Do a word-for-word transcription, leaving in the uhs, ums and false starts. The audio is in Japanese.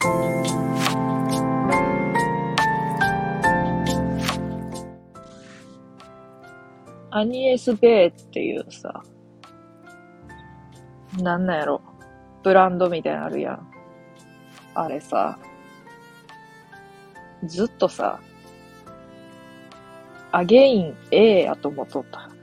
アニエス・ベイっていうさ、なんなんやろ、ブランドみたいなのあるやん。あれさ、ずっとさ、アゲイン A やと思っとった。